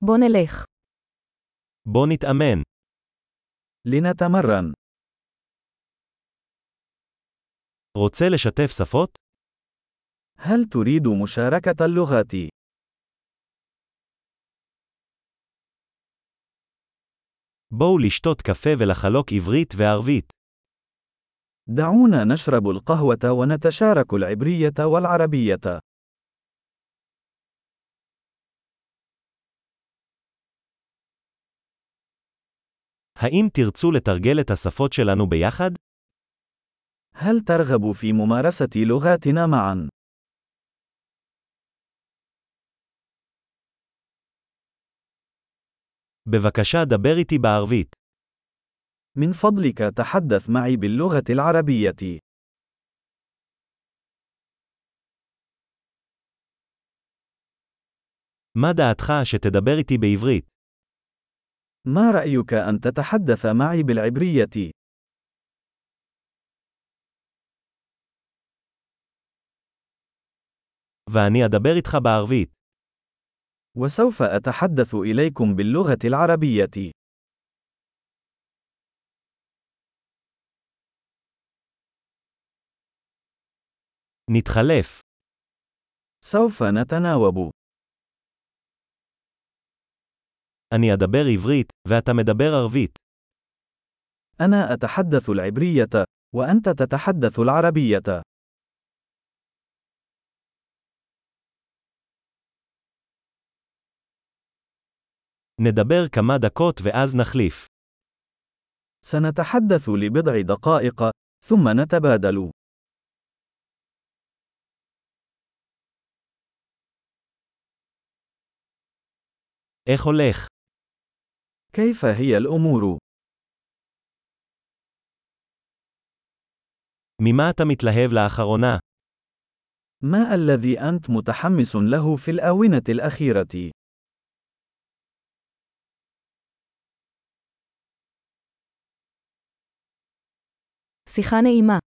בוא נלך. בוא נתאמן. لنتمرن. רוצה לשתף שפות? هل تريد مشاركة اللغات؟ בואו לשתות קפה ולחלוק עברית וערבית. دعونا نشرب القهوة ونتشارك العبرية والعربية. האם תרצו לתרגל את השפות שלנו ביחד? هل ترغب في ممارسة لغاتنا معا؟ בבקשה דבר איתי בערבית. من فضلك تحدث معي باللغة العربية. מה דעתך שתדבר איתי בעברית? ما رأيك أن تتحدث معي بالعبرية؟ ואני אדבר איתך בערבית. وسوف أتحدث إليكم باللغة العربية. נתחלף. سوف نتناوب. אני אדבר עברית, ואתה מדבר ערבית. أنا أتحدث العبرية، وأنت تتحدث العربية. נדבר כמה דקות ואז נחליף. سنتحدث لبضع دقائق، ثم نتبادل. איך הולך? كيف هي الأمور؟ ממה אתה מתלהב לאחרונה? ما الذي أنت متحمس له في الآونة الأخيرة؟ שיחה נעימה.